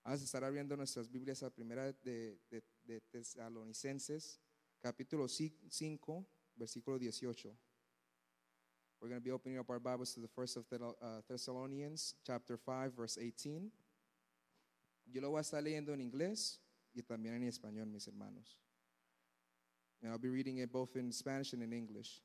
Vamos a estar abriendo nuestras Biblias a primera de Tesalonicenses, capítulo 5, versículo 18. We're going to be opening up our Bibles to the first of Thessalonians, chapter 5, verse 18. Yo lo voy a estar leyendo en inglés y también en español, mis hermanos. And I'll be reading it both in Spanish and in English.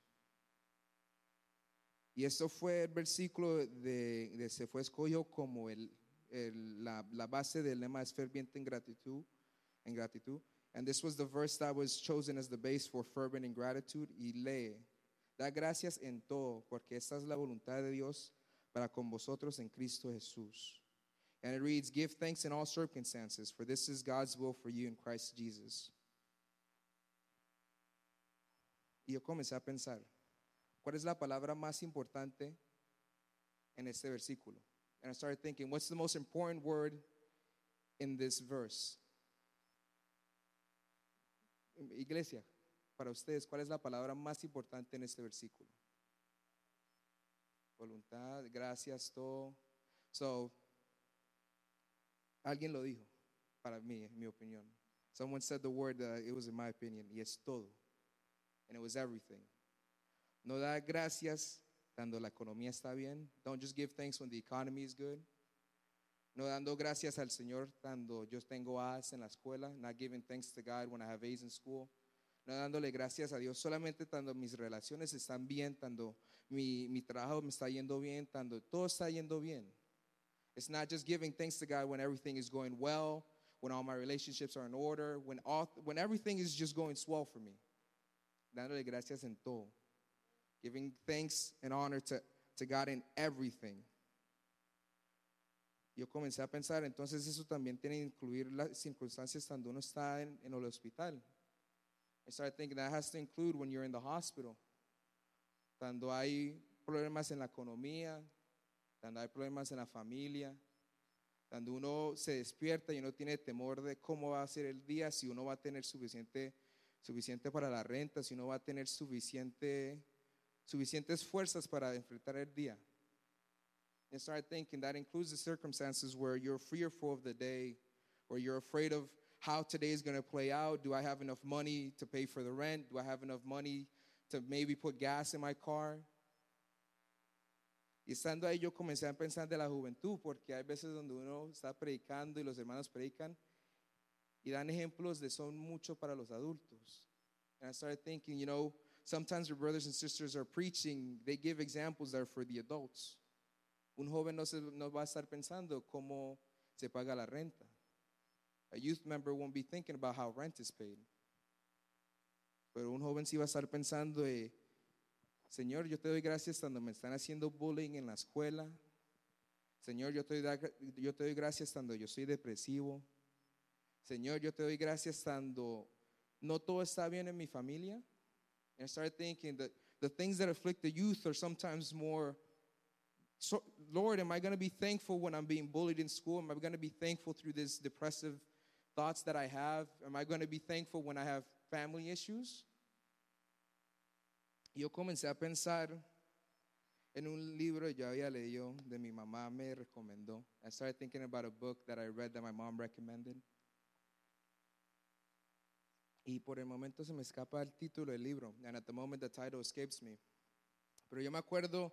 Y esto fue el versículo se fue escogido como la base del lema es ferviente en gratitud. And this was the verse that was chosen as the base for fervent in gratitude. Y lee, da gracias en todo, porque esta es la voluntad de Dios para con vosotros en Cristo Jesús. And it reads, give thanks in all circumstances, for this is God's will for you in Christ Jesus. Y yo comencé a pensar, ¿cuál es la palabra más importante en este versículo? And I started thinking, what's the most important word in this verse? Iglesia, para ustedes, ¿cuál es la palabra más importante en este versículo? Voluntad, gracias, todo. So, alguien lo dijo, para mí, en mi opinión. Someone said the word, it was in my opinion, y es todo. And it was everything. No da gracias cuando la economía está bien. Don't just give thanks when the economy is good. No dando gracias al Señor cuando yo tengo A's en la escuela. Not giving thanks to God when I have A's in school. No dándole gracias a Dios solamente cuando mis relaciones están bien, cuando mi trabajo me está yendo bien, cuando todo está yendo bien. It's not just giving thanks to God when everything is going well, when all my relationships are in order, when everything is just going swell for me. Dándole gracias en todo. Giving thanks and honor to God in everything. Yo comencé a pensar, entonces eso también tiene que incluir las circunstancias cuando uno está en el hospital. I started thinking that has to include when you're in the hospital. Cuando hay problemas en la economía, cuando hay problemas en la familia, cuando uno se despierta y uno tiene temor de cómo va a ser el día, si uno va a tener suficiente para la renta, si uno va a tener suficientes fuerzas para enfrentar el día. And start thinking that includes the circumstances where you're fearful of the day, where you're afraid of how today is going to play out. Do I have enough money to pay for the rent? Do I have enough money to maybe put gas in my car? Y estando ahí yo comencé a pensar de la juventud, porque hay veces donde uno está predicando y los hermanos predican y dan ejemplos de son mucho para los adultos. And I started thinking, sometimes your brothers and sisters are preaching, they give examples that are for the adults. Un joven no va a estar pensando cómo se paga la renta. A youth member won't be thinking about how rent is paid. Pero un joven sí va a estar pensando, Señor, yo te doy gracias cuando me están haciendo bullying en la escuela. Señor, yo te doy gracias cuando yo soy depresivo. Señor, yo te doy gracias cuando no todo está bien en mi familia. And I started thinking that the things that afflict the youth are sometimes more, so, Lord, am I going to be thankful when I'm being bullied in school? Am I going to be thankful through these depressive thoughts that I have? Am I going to be thankful when I have family issues? Y yo comencé a pensar en un libro que yo había leído, de mi mamá me recomendó. I started thinking about a book that I read that my mom recommended. Y por el momento se me escapa el título del libro. And at the moment the title escapes me. Pero yo me acuerdo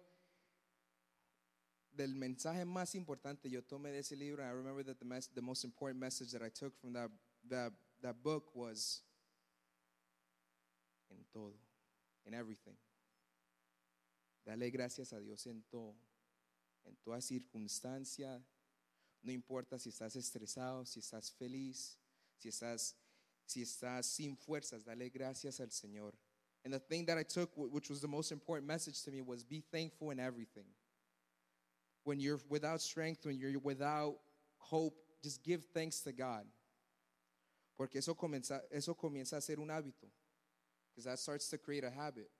del mensaje más importante yo tomé de ese libro. I remember that the most important message that I took from that book was en todo, en everything. Dale gracias a Dios en todo, en toda circunstancia. No importa si estás estresado, si estás feliz, si estás sin fuerzas, dale gracias al Señor. And the thing that I took, which was the most important message to me, was be thankful in everything. When you're without strength, when you're without hope, just give thanks to God. Porque eso comienza a ser un hábito. Because that starts to create a habit.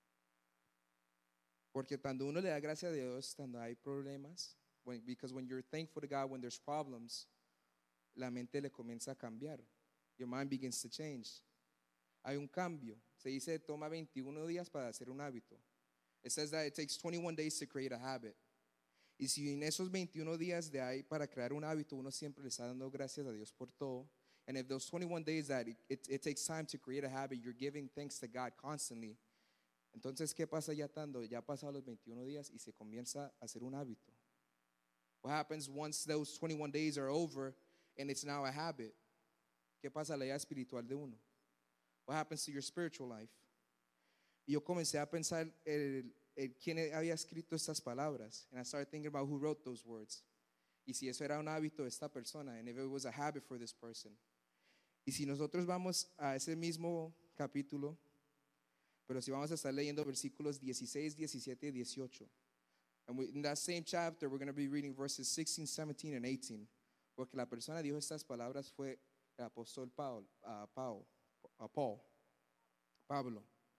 Porque cuando uno le da gracias a Dios, cuando hay problemas, because when you're thankful to God, when there's problems, la mente le comienza a cambiar. Your mind begins to change. Hay un cambio. Se dice, toma 21 días para hacer un hábito. It says that it takes 21 days to create a habit. Y si en esos 21 días de ahí para crear un hábito, uno siempre le está dando gracias a Dios por todo. And if those 21 days that it takes time to create a habit, you're giving thanks to God constantly. Entonces, ¿qué pasa ya tanto? Ya pasados los 21 días y se comienza a hacer un hábito. What happens once those 21 days are over and it's now a habit? ¿Qué pasa a la vida espiritual de uno? What happens to your spiritual life? Y yo comencé a pensar quién había escrito estas palabras. And I started thinking about who wrote those words. Y si eso era un hábito de esta persona, and if it was a habit for this person. Y si nosotros vamos a ese mismo capítulo, pero si vamos a estar leyendo versículos 16, 17 y 18. And in that same chapter, we're going to be reading verses 16, 17, and 18. Porque la persona dijo estas palabras fue el apóstol Pablo.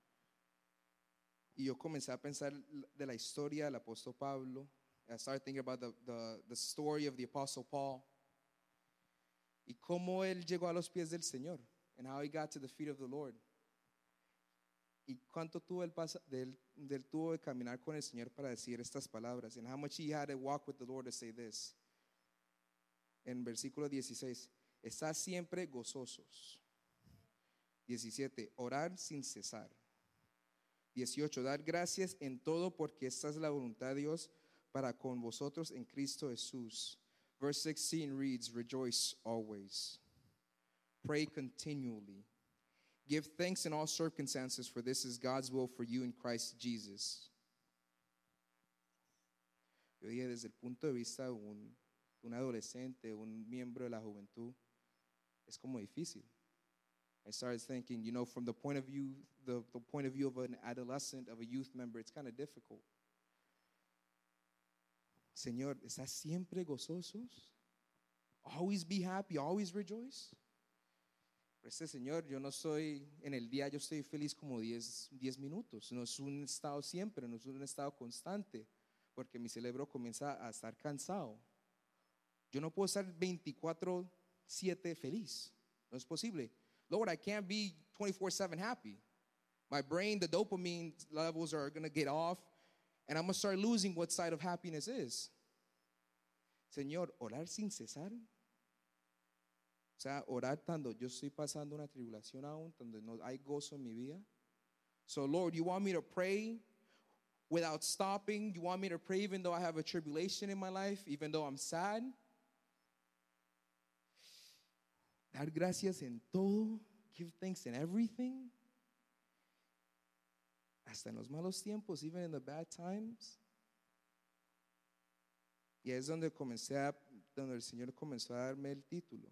Y yo comencé a pensar de la historia del apóstol Pablo. I started thinking about the story of the apostle Paul. Y cómo él llegó a los pies del Señor. And how he got to the feet of the Lord. Y cuánto tuvo él tuvo de caminar con el Señor para decir estas palabras. And how much he had to walk with the Lord to say this. En versículo 16. Estad siempre gozosos. 17. Orar sin cesar. 18. Dar gracias en todo porque esta es la voluntad de Dios para con vosotros en Cristo Jesús. Verse 16 reads, rejoice always. Pray continually. Give thanks in all circumstances, for this is God's will for you in Christ Jesus. Yo dije, desde el punto de vista de un adolescente, un miembro de la juventud, es como difícil. I started thinking, from the point of view, the point of view of an adolescent, of a youth member, it's kind of difficult. Señor, ¿estás siempre gozosos? Always be happy, always rejoice. Señor, yo no soy, en el día yo estoy feliz como 10 minutos. No es un estado siempre, no es un estado constante, porque mi cerebro comienza a estar cansado. Yo no puedo estar 24/7 feliz. No es posible. Lord, I can't be 24/7 happy. My brain, the dopamine levels are going to get off, and I'm going to start losing what side of happiness is. Señor, orar sin cesar. O sea, orar cuando yo estoy pasando una tribulación aún, donde no hay gozo en mi vida. So, Lord, you want me to pray without stopping? You want me to pray even though I have a tribulation in my life, even though I'm sad? Dar gracias en todo. Give thanks in everything. Hasta en los malos tiempos, even in the bad times. Y es donde donde el Señor comenzó a darme el título.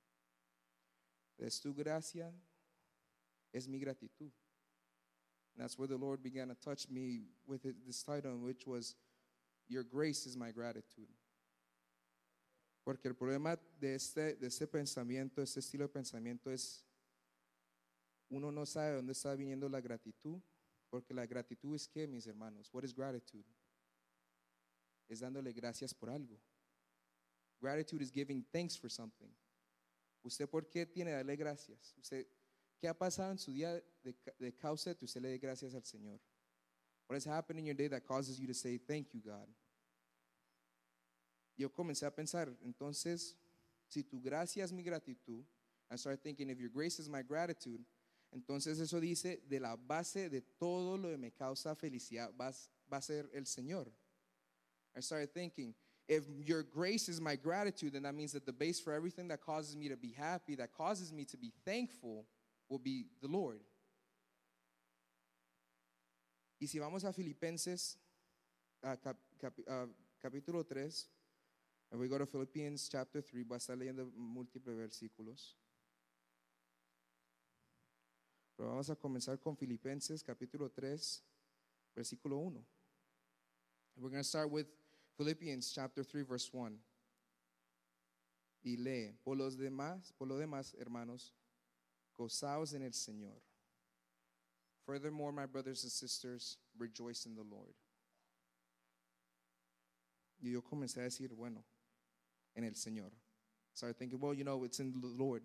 Es tu gracia, es mi gratitud. And that's where the Lord began to touch me with this title, which was, Your grace is my gratitude. Porque el problema de este pensamiento, este estilo de pensamiento es, uno no sabe de dónde está viniendo la gratitud, porque la gratitud es ¿qué, mis hermanos? What is gratitude? Es dándole gracias por algo. Gratitude is giving thanks for something. ¿Usted por qué tiene que darle gracias? ¿Qué ha pasado en su día de causa de que usted le dé gracias al Señor? What has happened in your day that causes you to say, thank you, God? Yo comencé a pensar, entonces, si tu gracia es mi gratitud, I started thinking, if your grace is my gratitude, entonces eso dice, de la base de todo lo que me causa felicidad va a ser el Señor. I started thinking, if your grace is my gratitude, then that means that the base for everything that causes me to be happy, that causes me to be thankful, will be the Lord. Y si vamos a Filipenses capítulo 3, and we go to Philippians chapter 3, voy a estar leyendo múltiples versículos. Pero vamos a comenzar con Filipenses capítulo 3, versículo 1. And we're going to start with Philippians chapter 3, verse 1. Y lee, por lo demás, hermanos, gozaos en el Señor. Furthermore, my brothers and sisters, rejoice in the Lord. Y yo comencé a decir, bueno, en el Señor. Started thinking, well, it's in the Lord.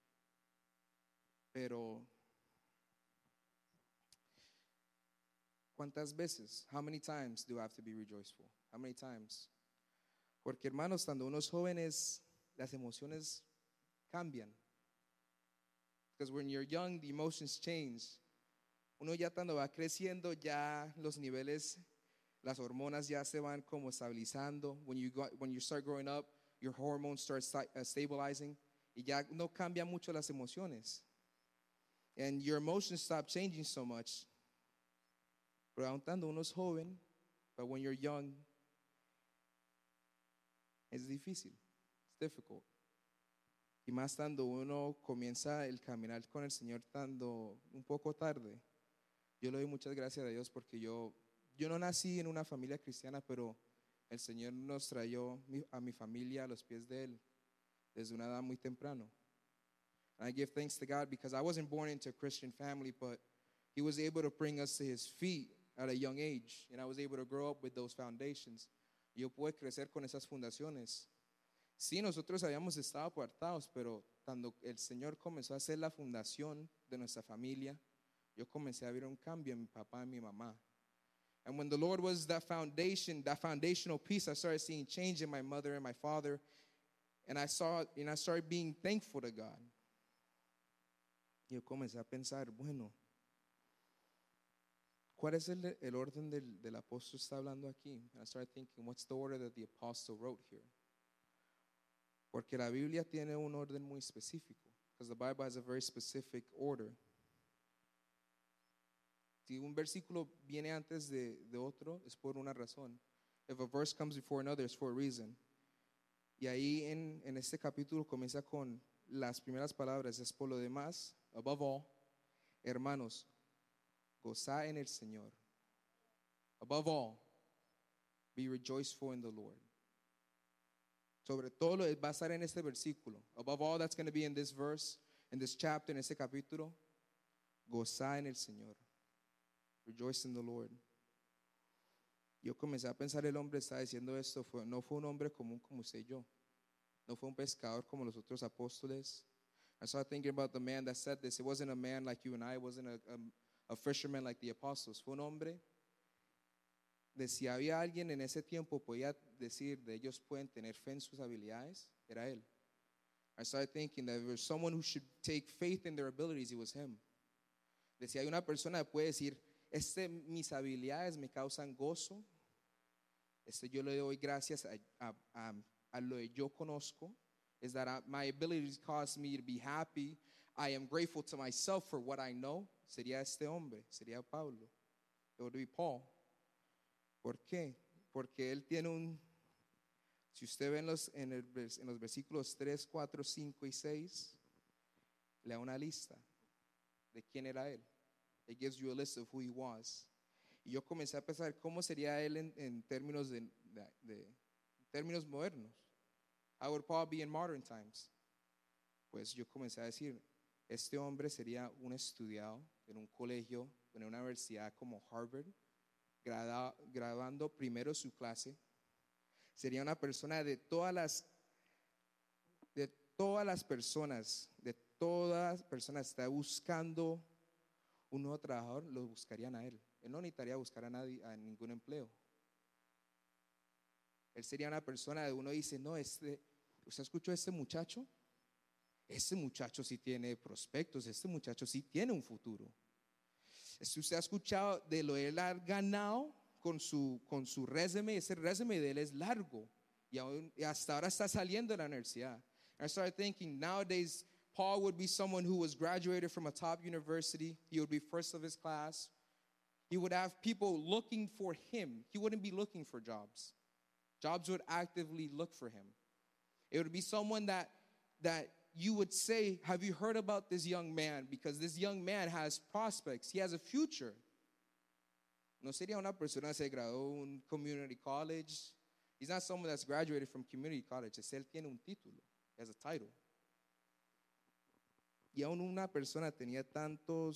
Pero ¿Cuántas veces? How many times do I have to be rejoiceful? How many times? Porque hermanos, cuando uno es jóvenes, las emociones cambian. Because when you're young, the emotions change. Uno ya cuando va creciendo, ya los niveles, las hormonas ya se van como estabilizando. When you start growing up, your hormones start stabilizing. Y ya no cambian mucho las emociones. And your emotions stop changing so much. Pero aun cuando uno es joven, but when you're young, es difícil. It's difficult. Y más cuando uno comienza el caminar con el Señor estando un poco tarde. Yo le doy muchas gracias a Dios porque yo no nací en una familia cristiana, pero el Señor nos trayó a mi familia a los pies de Él desde una edad muy temprano. And I give thanks to God because I wasn't born into a Christian family, but He was able to bring us to His feet at a young age. And I was able to grow up with those foundations. Y yo pude crecer con esas fundaciones. Sí, nosotros habíamos estado apartados, pero cuando el Señor comenzó a hacer la fundación de nuestra familia, yo comencé a ver un cambio en mi papá y mi mamá. And when the Lord was that foundation, that foundational piece, I started seeing change in my mother and my father. And I started being thankful to God. Y yo comencé a pensar, bueno, ¿cuál es el orden del apóstol está hablando aquí? And I started thinking, what's the order that the apostle wrote here? Porque la Biblia tiene un orden muy específico. Because the Bible has a very specific order. Si un versículo viene antes de otro, es por una razón. If a verse comes before another, it's for a reason. Y ahí en este capítulo comienza con las primeras palabras. Es por lo demás, above all, hermanos, gozad en el Señor. Above all, be rejoiceful in the Lord. Sobre todo va a estar en este versículo. Above all, that's going to be in this verse, in this chapter, en este capítulo. Gozad en el Señor. Rejoice in the Lord. Yo comencé a pensar, el hombre está diciendo esto, no fue un hombre común como usted y yo. No fue un pescador como los otros apóstoles. I started thinking about the man that said this. It wasn't a man like you and I. It wasn't a fisherman like the apostles. Fue un hombre de si había alguien en ese tiempo podía decir de ellos pueden tener fe en sus habilidades, era él. I started thinking that if there was someone who should take faith in their abilities, it was him. De si hay una persona que puede decir, mis habilidades me causan gozo, yo le doy gracias a lo que yo conozco, is that my abilities cause me to be happy. I am grateful to myself for what I know. Sería este hombre, sería Pablo. It would be Paul. ¿Por qué? Porque él tiene si usted ve en los versículos 3, 4, 5 y 6, le da una lista de quién era él. It gives you a list of who he was. Y yo comencé a pensar cómo sería él en términos términos modernos. How would Paul be in modern times? Pues yo comencé a decir, este hombre sería un estudiado en un colegio, en una universidad como Harvard, graduando primero su clase. Sería una persona de todas las personas está buscando un nuevo trabajador, lo buscarían a él. Él no necesitaría buscar a nadie, a ningún empleo. Él sería una persona de uno dice, no, ¿usted escuchó a este muchacho? Este muchacho sí tiene prospectos, este muchacho sí tiene un futuro. Usted ha escuchado de lo que él ha ganado con su resume, ese resume de él es largo y hasta ahora está saliendo de la universidad. I started thinking, nowadays, Paul would be someone who was graduated from a top university. He would be first of his class. He would have people looking for him. He wouldn't be looking for jobs. Jobs would actively look for him. It would be someone that you would say, have you heard about this young man? Because this young man has prospects. He has a future. No sería una persona que se graduó de un community college. He's not someone that's graduated from community college. Él tiene un título. He has a title. Y aún una persona tenía tanto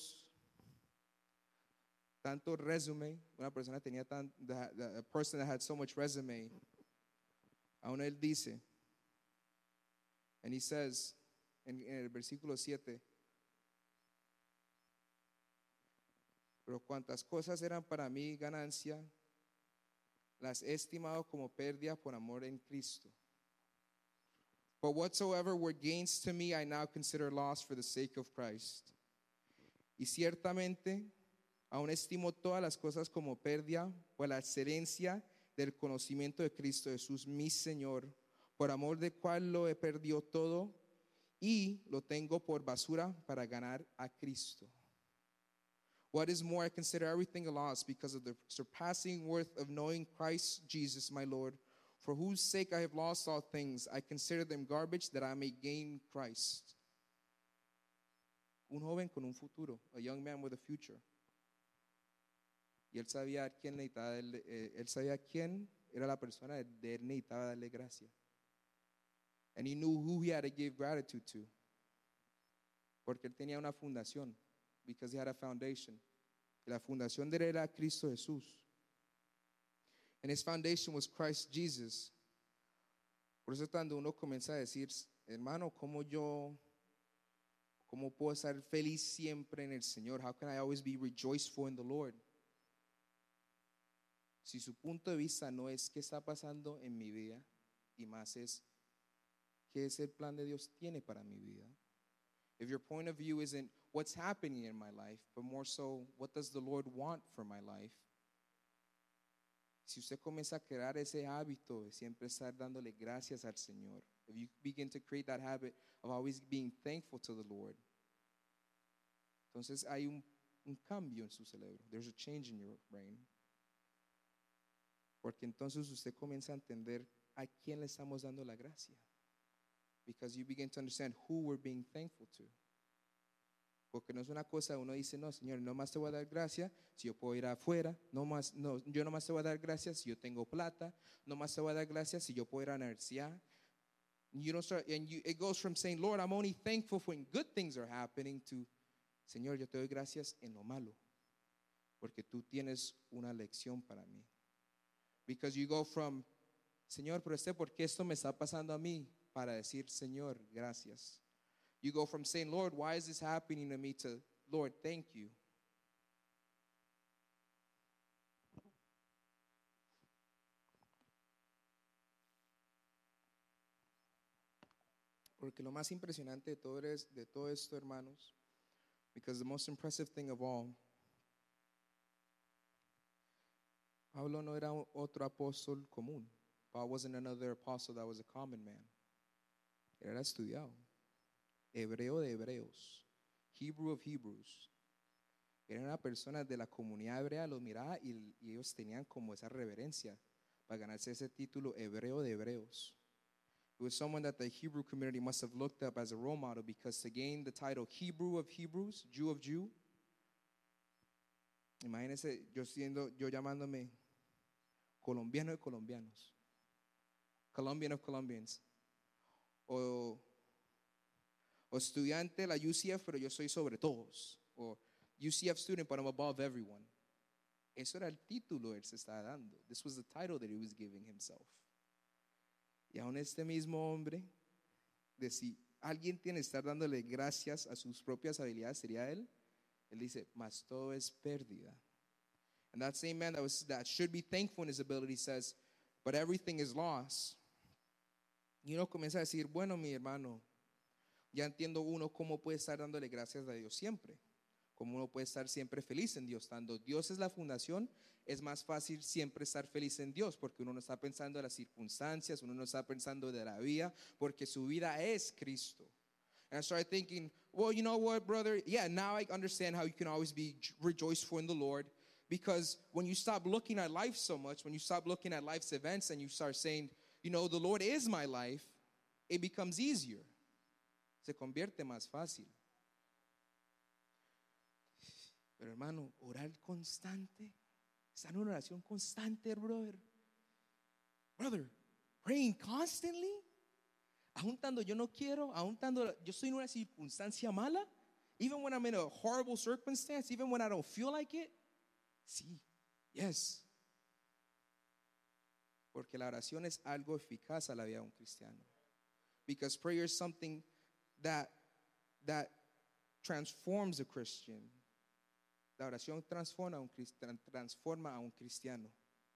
resume, una persona tenía a person that had so much resume, aún él dice, and he says, en el versículo 7, Pero cuantas cosas eran para mí ganancia, las he estimado como pérdida por amor en Cristo. But whatsoever were gains to me, I now consider loss for the sake of Christ. Y ciertamente, aún estimo todas las cosas como pérdida por la excelencia del conocimiento de Cristo Jesús, mi Señor, por amor del cual lo he perdido todo y lo tengo por basura para ganar a Cristo. What is more, I consider everything a loss because of the surpassing worth of knowing Christ Jesus my Lord, for whose sake I have lost all things. I consider them garbage that I may gain Christ. Un joven con un futuro, a young man with a future. Y él sabía quién necesitaba, él sabía quién era la persona de él necesitaba darle gracia. And he knew who he had to give gratitude to. Porque él tenía una fundación. Because he had a foundation. Y la fundación de él era Cristo Jesús. And his foundation was Christ Jesus. Por eso cuando uno comienza a decir, hermano, ¿cómo puedo estar feliz siempre en el Señor? How can I always be rejoiceful in the Lord? Si su punto de vista no es qué está pasando en mi vida, y más es qué es el plan de Dios tiene para mi vida. If your point of view isn't what's happening in my life, but more so, what does the Lord want for my life? Si usted comienza a crear ese hábito de siempre estar dándole gracias al Señor, if you begin to create that habit of always being thankful to the Lord, entonces hay un cambio en su cerebro. There's a change in your brain. Porque entonces usted comienza a entender a quién le estamos dando la gracia. Because you begin to understand who we're being thankful to. Porque no es una cosa, uno dice, no, Señor, no más te voy a dar gracias si yo puedo ir afuera, yo no más te voy a dar gracias si yo tengo plata, no más te voy a dar gracias si yo puedo ir a la universidad. It goes from saying, Lord, I'm only thankful when good things are happening to, Señor, yo te doy gracias en lo malo, porque tú tienes una lección para mí. Because you go from, Señor, pero ¿por qué esto me está pasando a mí? Para decir, Señor, gracias. You go from saying, Lord, why is this happening to me, to, Lord, thank you. Porque lo más impresionante de todo esto, hermanos, because the most impressive thing of all, Pablo no era otro apóstol común. Paul wasn't another apostle that was a common man. Era estudiado. Hebreo de hebreos. Hebrew of Hebrews. Era una persona de la comunidad hebrea, los miraba y ellos tenían como esa reverencia para ganarse ese título hebreo de hebreos. It was someone that the Hebrew community must have looked up as a role model, because to gain the title Hebrew of Hebrews, Jew of Jew, imagínense yo llamándome colombiano de colombianos, Colombian of Colombians, o estudiante de la UCF, pero yo soy sobre todos, o UCF student, but I'm above everyone. Eso era el título que él se estaba dando. This was the title that he was giving himself. Y aún este mismo hombre, de si alguien tiene que estar dándole gracias a sus propias habilidades, sería él. Él dice, mas todo es pérdida. And that same man that should be thankful in his ability says, but everything is loss. Y uno comienza a decir, bueno, mi hermano, ya entiendo uno cómo puede estar dándole gracias a Dios siempre. Cómo uno puede estar siempre feliz en Dios. Cuando Dios es la fundación, es más fácil siempre estar feliz en Dios, porque uno no está pensando en las circunstancias, uno no está pensando de la vida, porque su vida es Cristo. And I started thinking, well, you know what, brother? Yeah, now I understand how you can always be rejoiceful in the Lord. Because when you stop looking at life so much, when you stop looking at life's events and you start saying, you know, the Lord is my life, it becomes easier. Se convierte más fácil. Pero hermano, orar constante, estar en una oración constante, brother. Brother, praying constantly. Aún cuando yo no quiero, aún cuando yo estoy en una circunstancia mala, even when I'm in a horrible circumstance, even when I don't feel like it. Sí, yes. Porque la oración es algo eficaz a la vida de un cristiano. Because prayer is something that transforms a Christian. La oración transforma a un cristiano.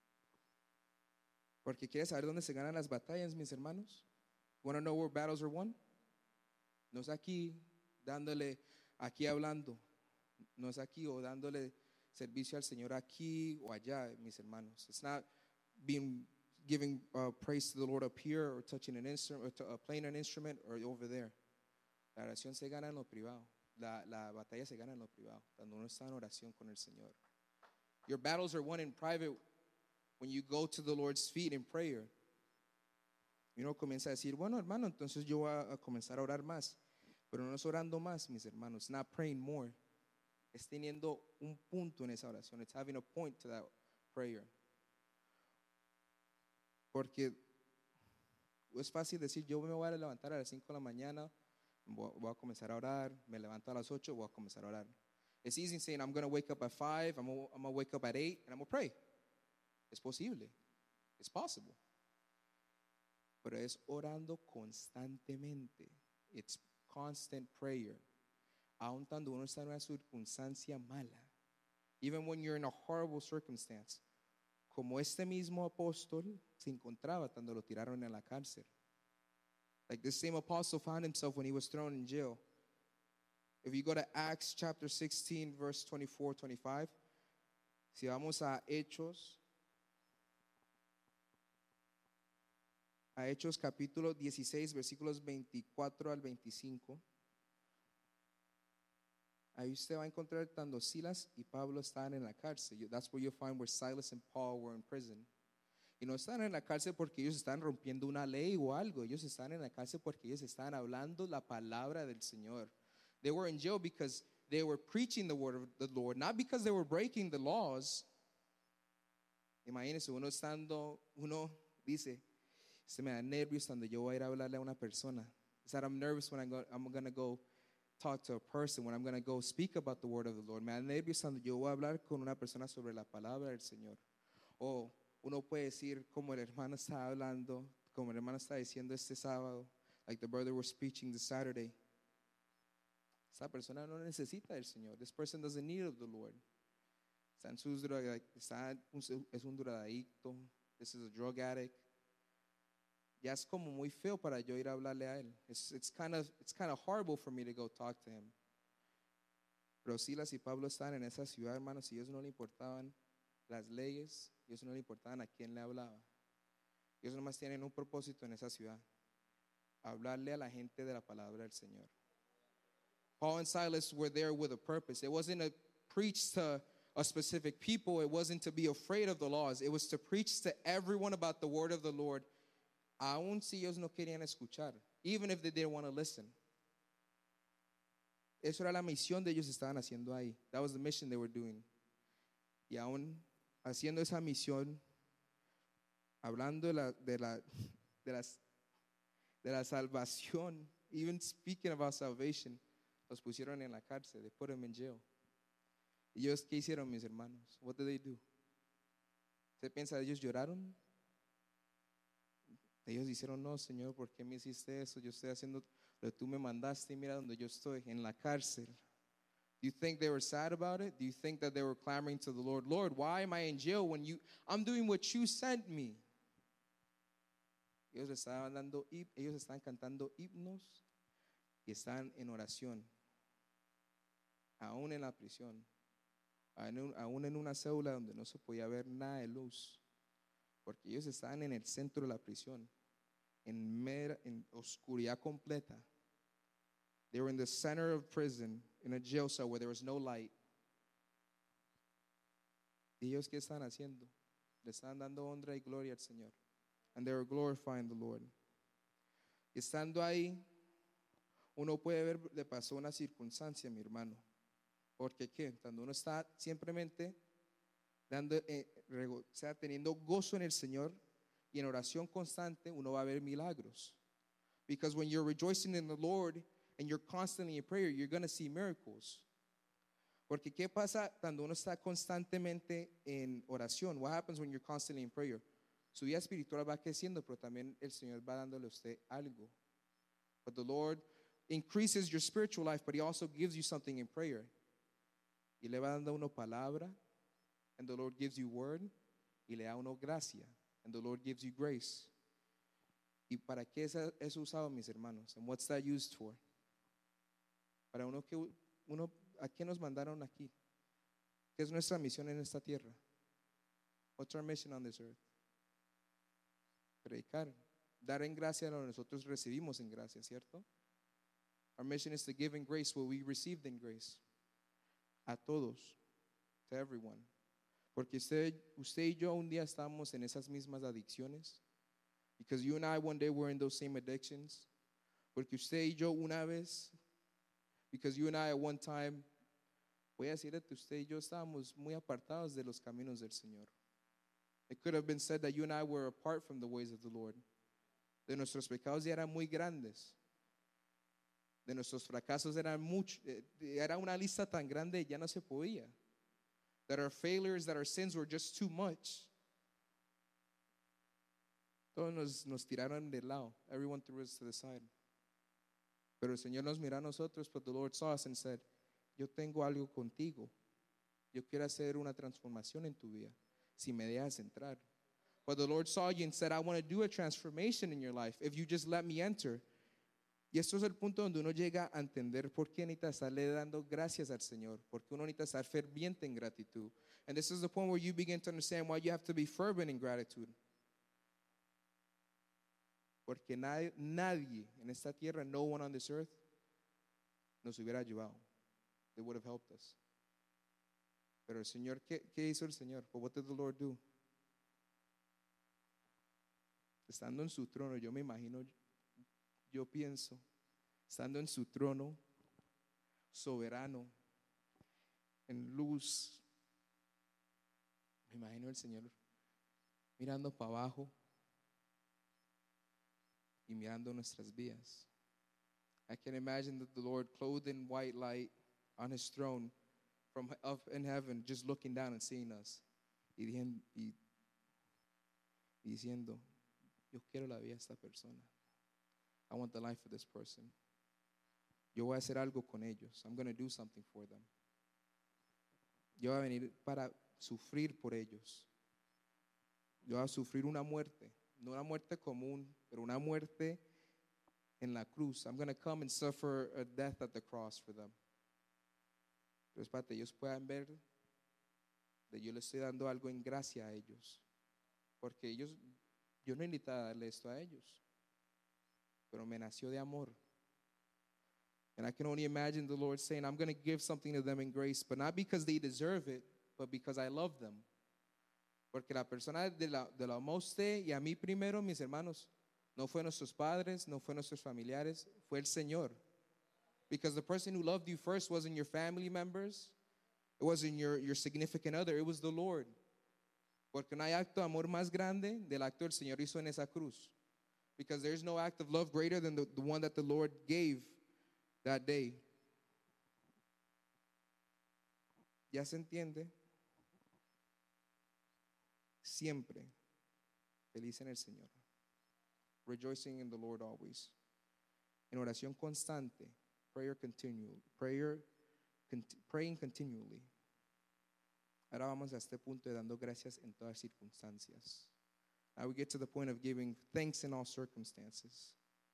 Porque ¿quieres saber dónde se ganan las batallas, mis hermanos? Want to know where battles are won? No es aquí dándole, aquí hablando. No es aquí o dándole servicio al Señor aquí o allá, mis hermanos. It's not giving praise to the Lord up here or touching an instrument or playing an instrument or over there. La oración se gana en lo privado. La batalla se gana en lo privado, cuando uno está en oración con el Señor. Your battles are won in private when you go to the Lord's feet in prayer. Y uno comienza a decir, bueno, hermano, entonces yo voy a comenzar a orar más. Pero no es orando más, mis hermanos. Not praying more. Es teniendo un punto en esa oración. It's having a point to that prayer. Porque es fácil decir, yo me voy a levantar a las 5 de la mañana, voy a comenzar a orar, me levanto a las 8, voy a comenzar a orar. It's easy saying, I'm going to wake up at 5, I'm going to wake up at 8, and I'm going to pray. Es posible. It's possible. Pero es orando constantemente. It's constant prayer. Aun cuando uno está en una circunstancia mala. Even when you're in a horrible circumstance. Como este mismo apóstol se encontraba cuando lo tiraron en la cárcel. Like this same apostle found himself when he was thrown in jail. If you go to Acts chapter 16, verse 24, 25. Si vamos a Hechos capítulo 16, versículos 24 al 25. Ahí usted va a encontrar cuando Silas y Pablo estaban en la cárcel. That's where you'll find where Silas and Paul were in prison. Y no estaban en la cárcel porque ellos estaban rompiendo una ley o algo. Ellos estaban en la cárcel porque ellos estaban hablando la palabra del Señor. They were in jail because they were preaching the word of the Lord, not because they were breaking the laws. Imagínense, uno dice, se me da nervios cuando yo voy a ir a hablarle a una persona. It's that I'm nervous when I'm going to go talk to a person, when I'm going to go speak about the word of the Lord. Me da nervios cuando yo voy a hablar con una persona sobre la palabra del Señor. O uno puede decir, como el hermano está hablando, como el hermano está diciendo este sábado, like the brother was preaching this Saturday. Esta persona no necesita del Señor. This person doesn't need of the Lord. Es un drogadicto. This is a drug addict. Ya es como muy feo para yo ir a hablarle a él. It's kind of horrible for me to go talk to him. Pero Silas y Pablo estaban en esa ciudad, hermanos, y ellos no le importaban las leyes, ellos no le importaban a quién le hablaba. Ellos nomás tienen un propósito en esa ciudad: hablarle a la gente de la palabra del Señor. Paul and Silas were there with a purpose. It wasn't to preach to a specific people. It wasn't to be afraid of the laws. It was to preach to everyone about the word of the Lord. Aun si ellos no querían escuchar, even if they didn't want to listen. Eso era la misión de ellos estaban haciendo ahí. That was the mission they were doing. Y aún haciendo esa misión, hablando de la salvación, even speaking about salvation, los pusieron en la cárcel. They put them in jail. ¿Y ellos qué hicieron, mis hermanos? What did they do? ¿Usted piensa ellos lloraron? Ellos dijeron, no, Señor, ¿por qué me hiciste eso? Yo estoy haciendo lo que tú me mandaste y mira donde yo estoy, en la cárcel. Do you think they were sad about it? Do you think that they were clamoring to the Lord, Lord, why am I in jail when I'm doing what you sent me? Ellos estaban cantando himnos y están en oración, aún en la prisión, aún en una célula donde no se podía ver nada de luz, porque ellos estaban en el centro de la prisión, en oscuridad completa. They were in the center of prison, in a jail cell where there was no light. ¿Y ellos qué están haciendo? Le están dando honra y gloria al Señor. And they were glorifying the Lord. Y estando ahí, uno puede ver, le pasó una circunstancia, mi hermano. Porque ¿qué? Cuando uno está simplemente teniendo gozo en el Señor y en oración constante, uno va a ver milagros. Because when you're rejoicing in the Lord and you're constantly in prayer, you're going to see miracles. Porque ¿qué pasa cuando uno está constantemente en oración? What happens when you're constantly in prayer? Su vida espiritual va creciendo, pero también el Señor va dándole a usted algo. But the Lord increases your spiritual life, but He also gives you something in prayer. Y le va dando a uno palabra, and the Lord gives you word, y le da a uno gracia, and the Lord gives you grace. ¿Y para qué es usado, mis hermanos? And what's that used for? Para ¿a qué nos mandaron aquí? ¿Qué es nuestra misión en esta tierra? What's our mission on this earth? Predicar, dar en gracia lo que nosotros recibimos en gracia, ¿cierto? Our mission is to give in grace what we received in grace. A todos, to everyone. Porque usted y yo un día estamos en esas mismas adicciones. Because you and I one day were in those same addictions. Porque usted y yo una vez, because you and I at one time, voy a decirle que usted y yo estábamos muy apartados de los caminos del Señor. It could have been said that you and I were apart from the ways of the Lord. De nuestros pecados ya eran muy grandes. De nuestros fracasos eran era una lista tan grande ya no se podía. That our failures, that our sins were just too much. Todos nos tiraron de lado. Everyone threw us to the side. Pero el Señor nos miró a nosotros, but the Lord saw us and said, yo tengo algo contigo. Yo quiero hacer una transformación en tu vida, si me dejas entrar. But the Lord saw you and said, I want to do a transformation in your life if you just let me enter. Y esto es el punto donde uno llega a entender por qué necesita estarle dando gracias al Señor, porque uno necesita estar ferviente en gratitud. And this is the point where you begin to understand why you have to be fervent in gratitude. Porque nadie en esta tierra, no one on this earth, nos hubiera ayudado. They would have helped us. Pero el Señor, ¿qué hizo el Señor? But what did the Lord do? Estando en su trono, yo me imagino, yo pienso, estando en su trono, soberano, en luz, me imagino el Señor mirando para abajo y mirando nuestras vidas. I can imagine that the Lord, clothed in white light on his throne from up in heaven, just looking down and seeing us y diciendo, yo quiero la vida de esta persona. I want the life of this person. Yo voy a hacer algo con ellos. I'm going to do something for them. Yo voy a venir para sufrir por ellos. Yo voy a sufrir una muerte, no una muerte común, pero una muerte en la cruz. I'm going to come and suffer a death at the cross for them. Entonces, para que ellos puedan ver que yo les estoy dando algo en gracia a ellos. Porque yo no necesitaba darle esto a ellos, pero me nació de amor. And I can only imagine the Lord saying, I'm going to give something to them in grace, but not because they deserve it, but because I love them. Porque la persona de la amó a usted y a mí primero, mis hermanos, no fue nuestros padres, no fue nuestros familiares, fue el Señor. Because the person who loved you first wasn't your family members, it wasn't your significant other, it was the Lord. Porque no hay acto de amor más grande del acto del Señor hizo en esa cruz. Because there's no act of love greater than the one that the Lord gave that day. ¿Ya se entiende? Siempre feliz en el Señor. Rejoicing in the Lord always. En oración constante, praying continually. Ahora vamos a este punto de dando gracias en todas circunstancias. Now we get to the point of giving thanks in all circumstances.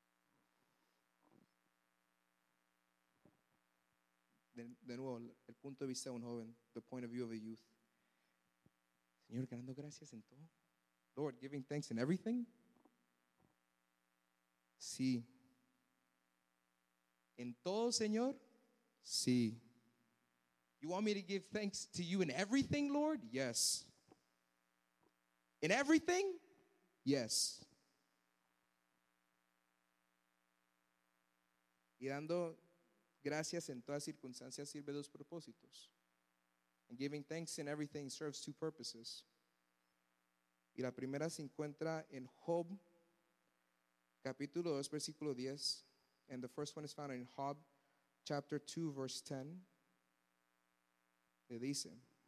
De nuevo, el punto de vista de un joven, the point of view of a youth. Señor, dando gracias en todo. Lord, giving thanks in everything. Sí. ¿En todo, Señor? Sí. You want me to give thanks to you in everything, Lord? Yes. In everything? Yes. Y dando gracias en todas circunstancias sirve dos propósitos. And giving thanks in everything serves two purposes. Y la primera se encuentra en Job, capítulo 2, versículo 10. And the first one is found in Job, chapter 2, verse 10. Le dice,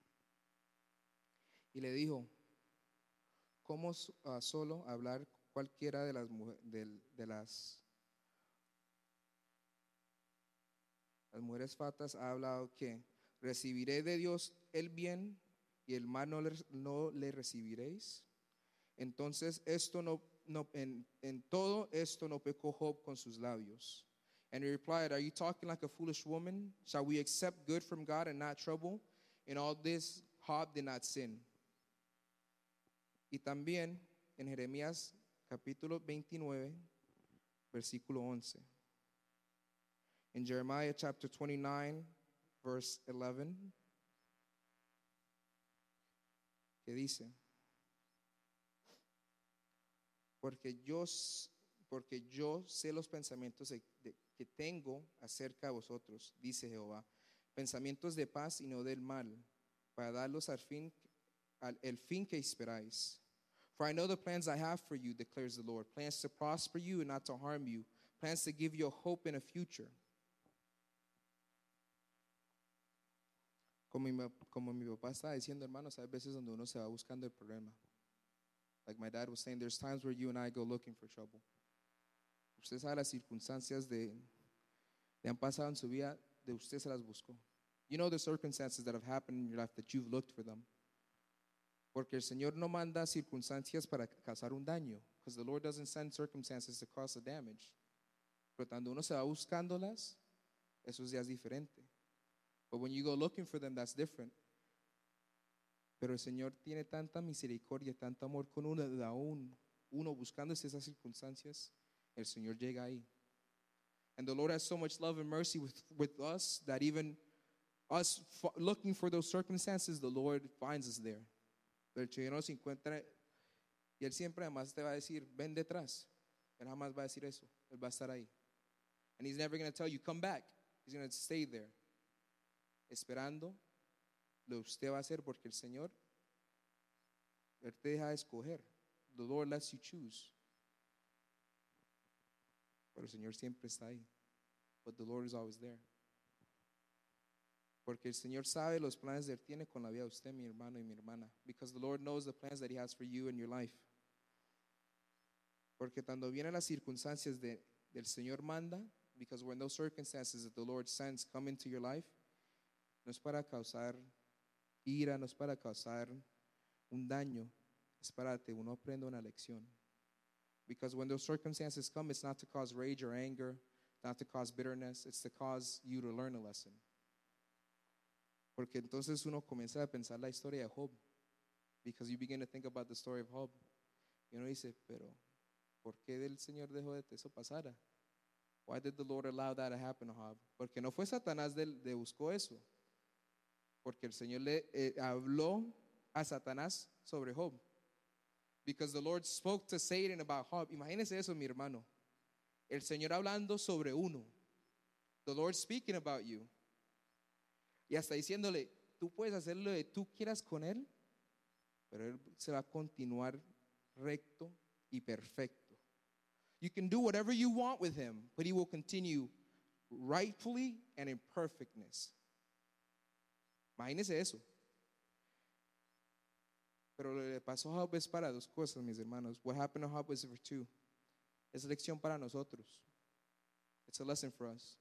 y le dijo, ¿cómo solo hablar cualquiera de las mujeres fatas ha hablado que ¿Recibiré de Dios el bien y el mal no le recibiréis? Entonces en todo esto no pecó Job con sus labios. And he replied, are you talking like a foolish woman? Shall we accept good from God and not trouble? In all this Job did not sin. Y también en Jeremías capítulo 29, versículo 11. In Jeremiah chapter 29, verse 11, que dice, porque yo sé los pensamientos que tengo acerca de vosotros, dice Jehová, pensamientos de paz y no del mal, para darlos el fin que esperáis. For I know the plans I have for you, declares the Lord, plans to prosper you and not to harm you, plans to give you a hope and a future. Como mi papá estaba diciendo, hermanos, hay veces donde uno se va buscando el problema. Like my dad was saying, there's times where you and I go looking for trouble. Usted sabe las circunstancias le han pasado en su vida, de usted se las buscó. You know the circumstances that have happened in your life that you've looked for them. Porque el Señor no manda circunstancias para causar un daño. Because the Lord doesn't send circumstances to cause a damage. Pero cuando uno se va buscándolas, eso ya es diferente. But when you go looking for them, that's different. Pero el Señor tiene tanta misericordia, tanto amor con uno, aún uno buscando esas circunstancias, el Señor llega ahí. And the Lord has so much love and mercy with us that even us looking for those circumstances, the Lord finds us there. El Señor nos encuentra y Él siempre además te va a decir, ven detrás. Él jamás va a decir eso. Él va a estar ahí. And He's never going to tell you, come back. He's going to stay there. Esperando lo que usted va a hacer porque el Señor, Él te deja escoger. The Lord lets you choose. Pero el Señor siempre está ahí. But the Lord is always there. Porque el Señor sabe los planes que Él tiene con la vida de usted, mi hermano y mi hermana. Because the Lord knows the plans that He has for you and your life. Porque cuando vienen las circunstancias del Señor manda, because when those circumstances that the Lord sends come into your life, no es para causar ira, no es para causar un daño, es para que uno aprenda una lección. Because when those circumstances come, it's not to cause rage or anger, not to cause bitterness, it's to cause you to learn a lesson. Porque entonces uno comienza a pensar la historia de Job. Because you begin to think about the story of Job. Y uno dice, pero ¿por qué el Señor dejó de que eso pasara? Why did the Lord allow that to happen to Job? Porque no fue Satanás de buscó eso. Porque el Señor le habló a Satanás sobre Job. Because the Lord spoke to Satan about Job. Imagínese eso, mi hermano. El Señor hablando sobre uno. The Lord speaking about you. Y hasta diciéndole, tú puedes hacer lo que tú quieras con él, pero él se va a continuar recto y perfecto. You can do whatever you want with him, but he will continue rightfully and in perfectness. Imagínese eso. Pero lo que le pasó a Job es para dos cosas, mis hermanos. What happened to Job was for two. Es lección para nosotros. It's a lesson for us.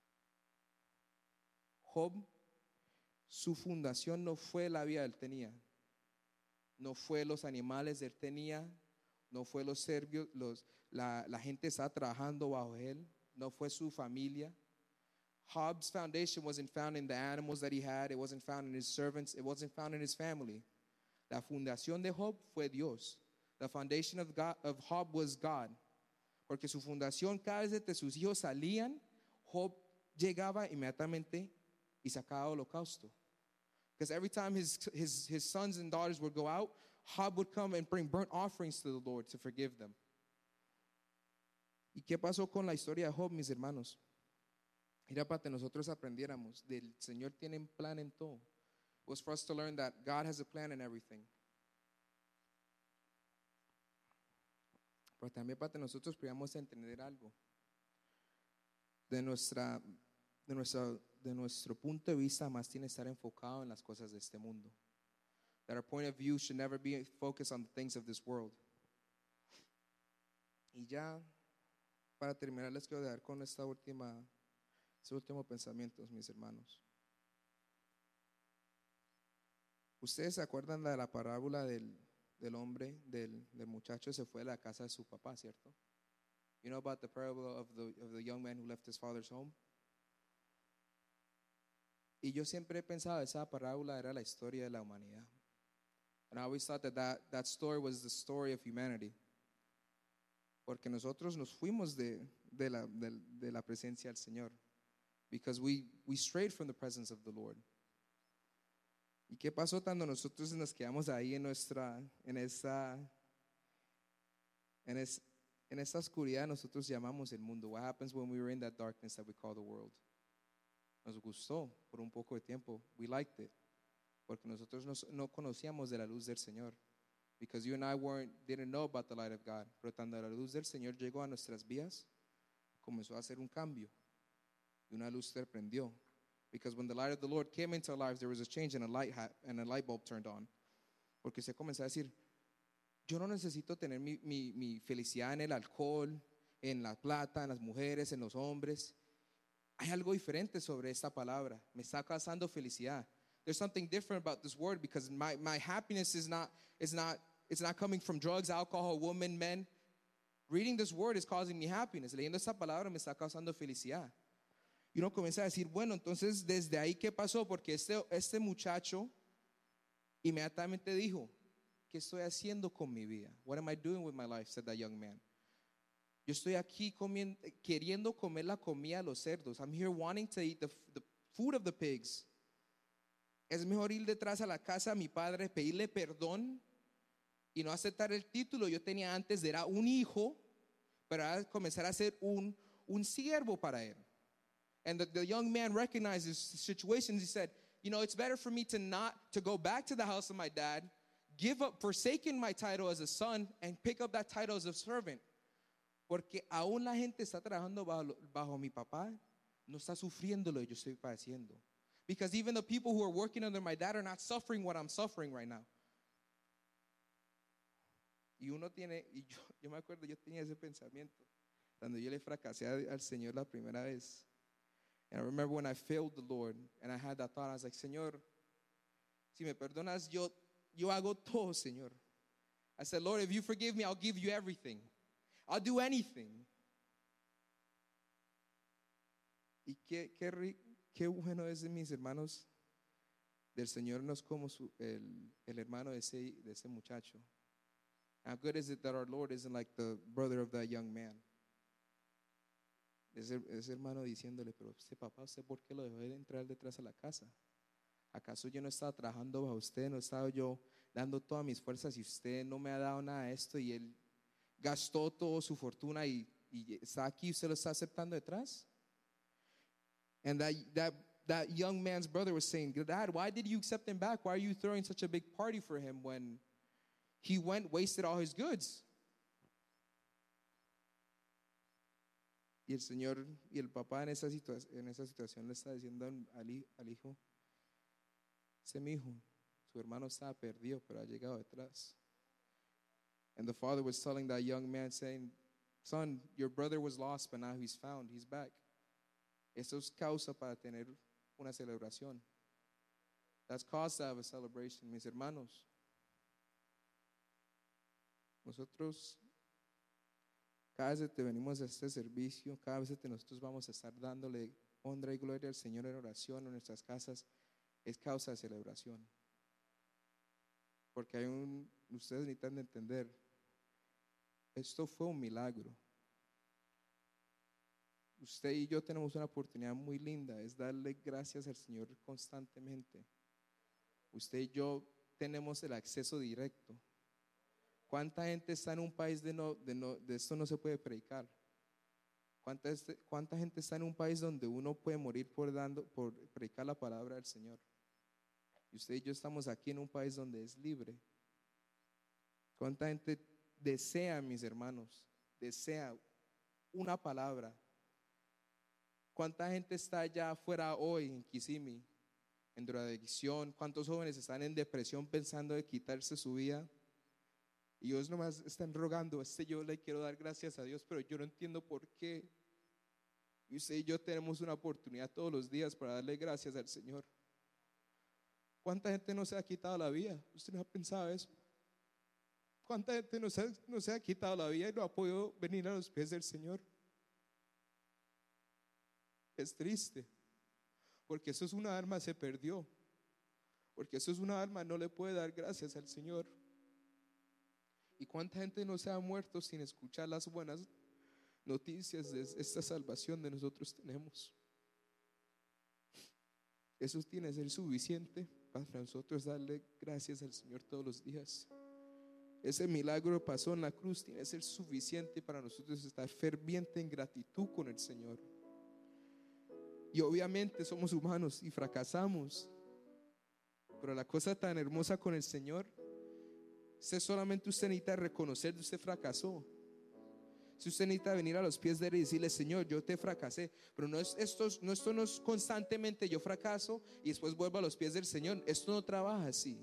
Job, su fundación no fue la vida que él tenía. No fue los animales que él tenía. No fue los serbios, la gente está trabajando bajo él. No fue su familia. Job's foundation wasn't found in the animals that he had. It wasn't found in his servants. It wasn't found in his family. La fundación de Job fue Dios. The foundation of Job was God. Porque su fundación, cada vez que sus hijos salían, Job llegaba inmediatamente y sacaba holocausto. Because every time his sons and daughters would go out, Job would come and bring burnt offerings to the Lord to forgive them. ¿Y qué pasó con la historia de Job, mis hermanos? Era para que nosotros aprendiéramos. Del Señor tiene un plan en todo. It was for us to learn that God has a plan in everything. Pero también para que nosotros podamos entender algo. De nuestro punto de vista, más tiene que estar enfocado en las cosas de este mundo. That our point of view should never be focused on the things of this world. Y ya, para terminar, les quiero dejar con este último pensamiento, mis hermanos. ¿Ustedes se acuerdan de la parábola del hombre, del muchacho se fue de la casa de su papá, cierto? You know about the parable of the young man who left his father's home? Y yo siempre he pensado esa parábola era la historia de la humanidad. And I always thought that story was the story of humanity. Porque nosotros nos fuimos de la presencia del Señor. Because we strayed from the presence of the Lord. ¿Y qué pasó cuando nosotros nos quedamos ahí en esta oscuridad nosotros llamamos el mundo? What happens when we were in that darkness that we call the world? Nos gustó por un poco de tiempo. We liked it. Porque nosotros no conocíamos de la luz del Señor. Because you and I didn't know about the light of God. Pero cuando la luz del Señor llegó a nuestras vidas, comenzó a hacer un cambio. Y una luz se prendió. Because when the light of the Lord came into our lives, there was a change and a light bulb turned on. Porque se comenzó a decir, yo no necesito tener mi felicidad en el alcohol, en la plata, en las mujeres, en los hombres. Hay algo diferente sobre esta palabra. Me está causando felicidad. There's something different about this word because my happiness is not coming from drugs, alcohol, women, men. Reading this word is causing me happiness. Leyendo esta palabra me está causando felicidad. Y uno comienza a decir, bueno, entonces desde ahí, ¿qué pasó? Porque este muchacho inmediatamente dijo, ¿qué estoy haciendo con mi vida? What am I doing with my life? Said that young man. Yo estoy aquí queriendo comer la comida de los cerdos. I'm here wanting to eat the food of the pigs. Es mejor ir detrás a la casa de mi padre, pedirle perdón y no aceptar el título. Yo tenía antes, era un hijo, pero ahora comenzar a ser un siervo para él. And the young man recognized his situation. He said, you know, it's better for me to go back to the house of my dad, give up, forsaking my title as a son, and pick up that title as a servant. Porque aún la gente está trabajando bajo mi papá, no está sufriendo lo que yo estoy padeciendo. Because even the people who are working under my dad are not suffering what I'm suffering right now. Y yo me acuerdo, yo tenía ese pensamiento cuando yo le fracasé al Señor la primera vez. And I remember when I failed the Lord and I had that thought, I was like, Señor, si me perdonas, yo hago todo, Señor. I said, Lord, if you forgive me, I'll give you everything. I'll do anything. Y qué bueno es, mis hermanos, del Señor no es como el hermano de ese muchacho. How good is it that our Lord isn't like the brother of that young man? Ese hermano diciéndole, pero papá, ¿usted por qué lo dejó de entrar detrás a la casa? ¿Acaso yo no estaba trabajando bajo usted? ¿No estaba yo dando todas mis fuerzas y usted no me ha dado nada de esto? Y él gastó toda su fortuna y está aquí, ¿usted lo está aceptando detrás? And that young man's brother was saying, Dad, why did you accept him back? Why are you throwing such a big party for him when he wasted all his goods? Y el Señor y el papá en esa situación le está diciendo al hijo, ese mi hijo, su hermano estaba perdido, pero ha llegado detrás. And the father was telling that young man, saying, son, your brother was lost, but now he's found, he's back. Eso es causa para tener una celebración. That's cause to have a celebration, mis hermanos. Nosotros cada vez que venimos a este servicio, cada vez que nosotros vamos a estar dándole honra y gloria al Señor en oración en nuestras casas, es causa de celebración. Porque ustedes necesitan de entender, esto fue un milagro. Usted y yo tenemos una oportunidad muy linda, es darle gracias al Señor constantemente. Usted y yo tenemos el acceso directo. ¿Cuánta gente está en un país de esto no se puede predicar? ¿Cuánta gente está en un país donde uno puede morir por predicar la palabra del Señor? Y usted y yo estamos aquí en un país donde es libre. ¿Cuánta gente desea, mis hermanos, desea una palabra? ¿Cuánta gente está allá afuera hoy en Kissimmee, en drogadicción? ¿Cuántos jóvenes están en depresión pensando de quitarse su vida? Y ellos nomás están rogando, yo le quiero dar gracias a Dios, pero yo no entiendo por qué. Y usted y yo tenemos una oportunidad todos los días para darle gracias al Señor. ¿Cuánta gente no se ha quitado la vida? ¿Usted no ha pensado eso? ¿Cuánta gente no se ha quitado la vida y no ha podido venir a los pies del Señor? Es triste, porque eso es una alma, se perdió. Porque eso es una alma, no le puede dar gracias al Señor. ¿Y cuánta gente no se ha muerto sin escuchar las buenas noticias de esta salvación de nosotros tenemos? Eso tiene que ser suficiente para nosotros darle gracias al Señor todos los días. Ese milagro pasó en la cruz, tiene que ser suficiente para nosotros estar ferviente en gratitud con el Señor. Y obviamente somos humanos y fracasamos, pero la cosa tan hermosa con el Señor es solamente usted necesita reconocer que usted fracasó. Si usted necesita venir a los pies de Él y decirle: Señor, yo te fracasé, pero esto no es constantemente yo fracaso y después vuelvo a los pies del Señor. Esto no trabaja así.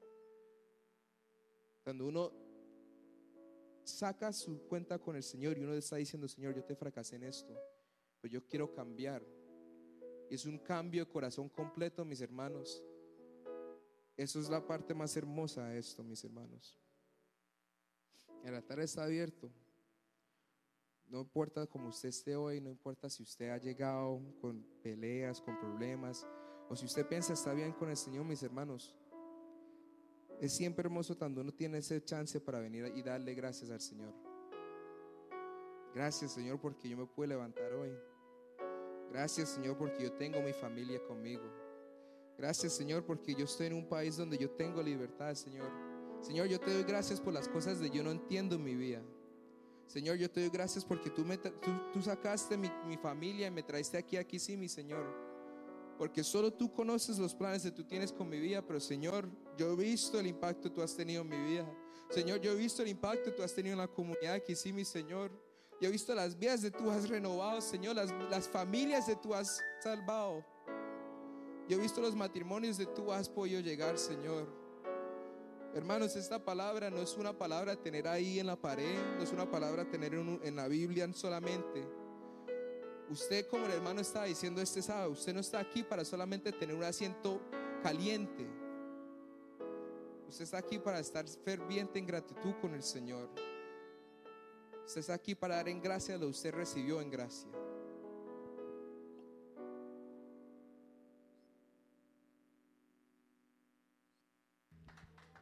Cuando uno saca su cuenta con el Señor y uno está diciendo: Señor, yo te fracasé en esto, pero yo quiero cambiar. Y es un cambio de corazón completo, mis hermanos. Eso es la parte más hermosa de esto, mis hermanos. El altar está abierto. No importa cómo usted esté hoy, no importa si usted ha llegado con peleas, con problemas, o si usted piensa está bien con el Señor, mis hermanos. Es siempre hermoso cuando uno tiene ese chance para venir y darle gracias al Señor. Gracias, Señor, porque yo me pude levantar hoy. Gracias, Señor, porque yo tengo mi familia conmigo. Gracias, Señor, porque yo estoy en un país donde yo tengo libertad, Señor. Señor, yo te doy gracias por las cosas que yo no entiendo en mi vida. Señor, yo te doy gracias porque tú sacaste mi familia y me traiste aquí sí, mi Señor. Porque solo tú conoces los planes que tú tienes con mi vida. Pero Señor, yo he visto el impacto que tú has tenido en mi vida. Señor, yo he visto el impacto que tú has tenido en la comunidad aquí sí, mi Señor. Yo he visto las vidas que tú has renovado, Señor, las familias que tú has salvado. Yo he visto los matrimonios que tú has podido llegar, Señor. Hermanos, esta palabra no es una palabra a tener ahí en la pared, no es una palabra a tener en la Biblia solamente. Usted, como el hermano estaba diciendo este sábado, usted no está aquí para solamente tener un asiento caliente. Usted está aquí para estar ferviente en gratitud con el Señor. Usted está aquí para dar en gracia lo que usted recibió en gracia.